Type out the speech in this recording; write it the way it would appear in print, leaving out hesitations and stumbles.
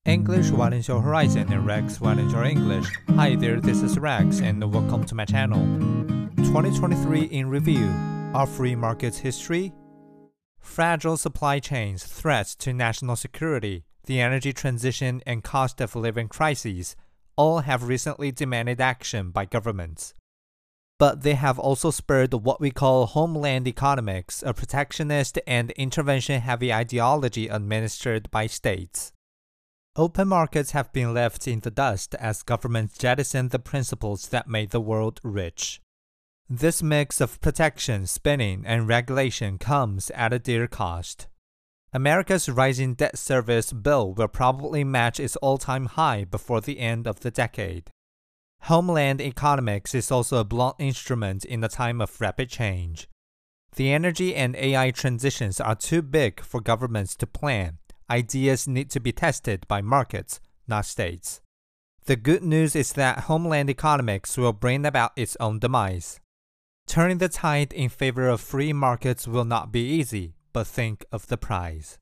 English widens your horizon and Rex widens your English. Hi there, this is Rex and welcome to my channel. 2023 in review. Are free markets history? Fragile supply chains, threats to national security, the energy transition and cost of living crises all have recently demanded action by governments. But they have also spurred what we call homeland economics, a protectionist and intervention-heavy ideology administered by states. Open markets have been left in the dust as governments jettison the principles that made the world rich. This mix of protection, spending, and regulation comes at a dear cost. America's rising debt service bill will probably match its all-time high before the end of the decade. Homeland economics is also a blunt instrument in a time of rapid change. The energy and AI transitions are too big for governments to plan. Ideas need to be tested by markets, not states. The good news is that homeland economics will bring about its own demise. Turning the tide in favor of free markets will not be easy, but think of the price.